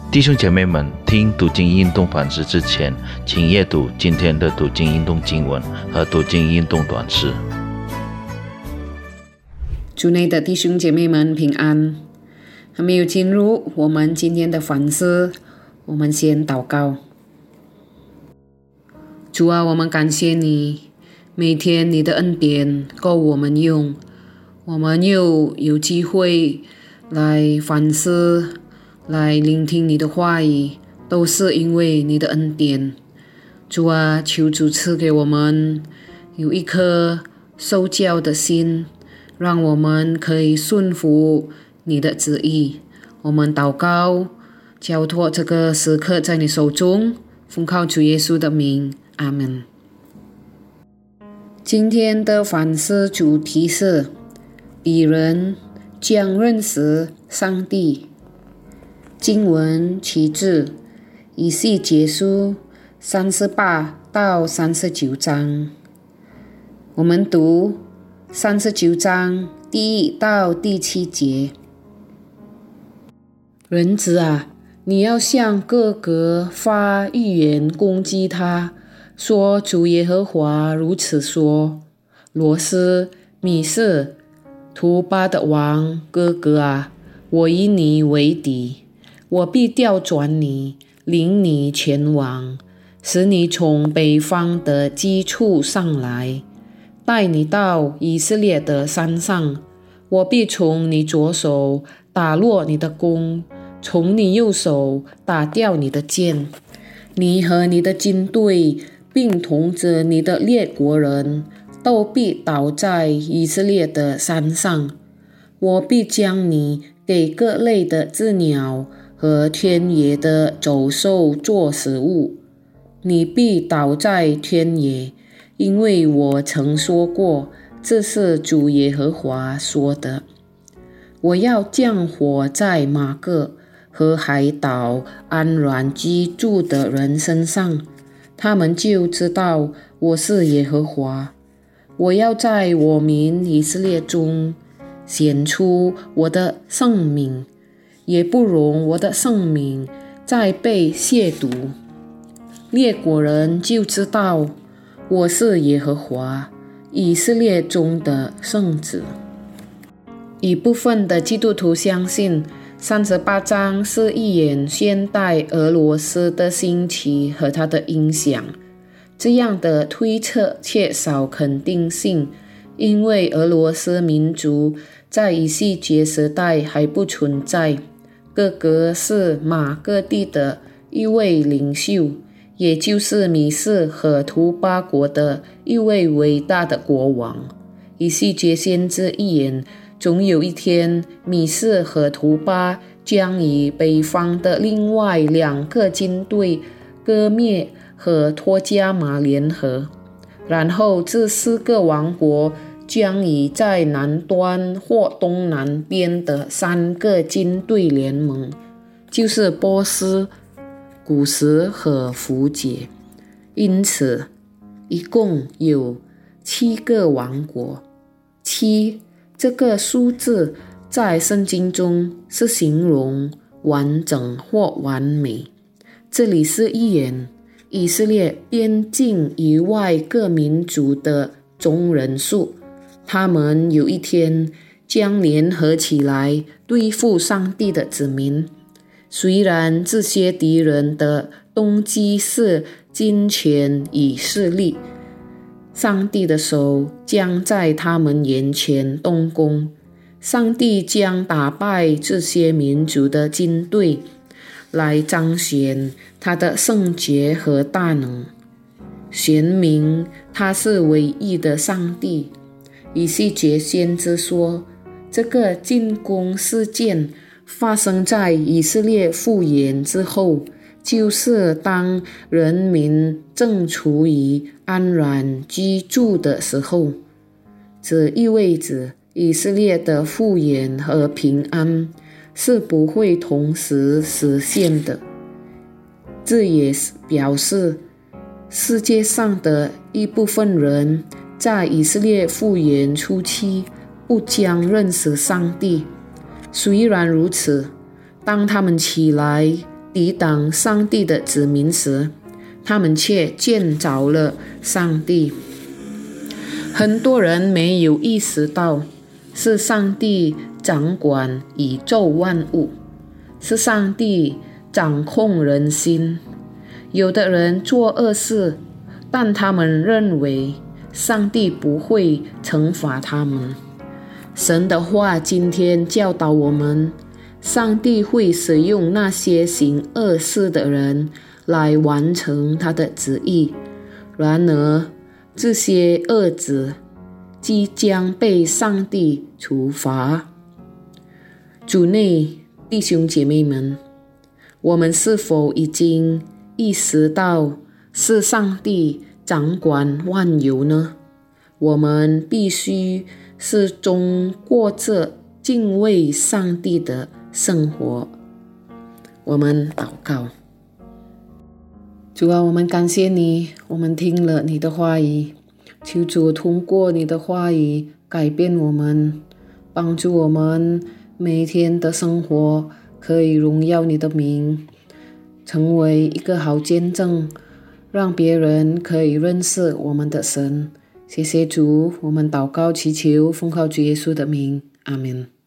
弟兄姐妹们，听读经运动反思之前，请阅读今天的读经运动经文和读经运动短诗。 主内的弟兄姐妹们平安。还没有进入我们今天的反思，我们先祷告。主啊，我们感谢你，每天你的恩典够我们用，我们又有机会来反思，来聆听你的话语，都是因为你的恩典。主啊，求主赐给我们有一颗受教的心，让我们可以顺服你的旨意。我们祷告，交托这个时刻在你手中，奉靠主耶稣的名，阿们。今天的反思主题是彼人将认识上帝。经文取自以西结书38到39章。我们读39章第1到第7节。人子啊，你要向各国发预言攻击他，说主耶和华如此说：罗斯、米色、图巴的王哥哥啊，我与你为敌，我必调转你，领你前往，使你从北方的基处上来，带你到以色列的山上。我必从你左手打落你的弓，从你右手打掉你的箭。你和你的军队，并同着你的列国人，都必倒在以色列的山上。我必将你给各类的鸷鸟和天野的走兽做食物。你必倒在天野，因为我曾说过，这是主耶和华说的。我要降火在马各和海岛安然居住的人身上，他们就知道我是耶和华。我要在我民以色列中显出我的圣名，也不容我的圣名再被亵渎。列国人就知道我是耶和华，以色列中的圣子。一部分的基督徒相信38章是预言现代俄罗斯的兴起和它的影响。这样的推测缺少肯定性，因为俄罗斯民族在以西结时代还不存在。哥哥是马各地的一位领袖，也就是米色和图巴国的一位伟大的国王。以西结先知预言，总有一天米色和图巴将与北方的另外2个军队割灭和托加马联合，然后这4个王国将与在南端或东南边的3个军队联盟，就是波斯、古时和弗解。因此一共有7个王国。7这个数字在圣经中是形容完整或完美。这里是预言以色列边境以外各民族的总人数，他们有一天将联合起来对付上帝的子民。虽然这些敌人的动机是金钱与势力，上帝的手将在他们眼前动工，上帝将打败这些民族的军队，来彰显他的圣洁和大能，显明他是唯一的上帝。以西结先知说，这个进攻事件发生在以色列复原之后，就是当人民正处于安然居住的时候。这意味着以色列的复原和平安是不会同时实现的。这也表示世界上的一部分人在以色列复原初期不将认识上帝。虽然如此，当他们起来抵挡上帝的子民时，他们却见着了上帝。很多人没有意识到，是上帝掌管宇宙万物，是上帝掌控人心。有的人做恶事，但他们认为上帝不会惩罚他们。神的话今天教导我们，上帝会使用那些行恶事的人来完成他的旨意。然而，这些恶子即将被上帝处罚。主内弟兄姐妹们，我们是否已经意识到是上帝掌管万有呢？我们必须始终过着敬畏上帝的生活。我们祷告。主啊，我们感谢你，我们听了你的话语，求主通过你的话语改变我们，帮助我们每一天的生活可以荣耀你的名，成为一个好见证，让别人可以认识我们的神。谢谢主，我们祷告祈求，奉靠主耶稣的名，阿们。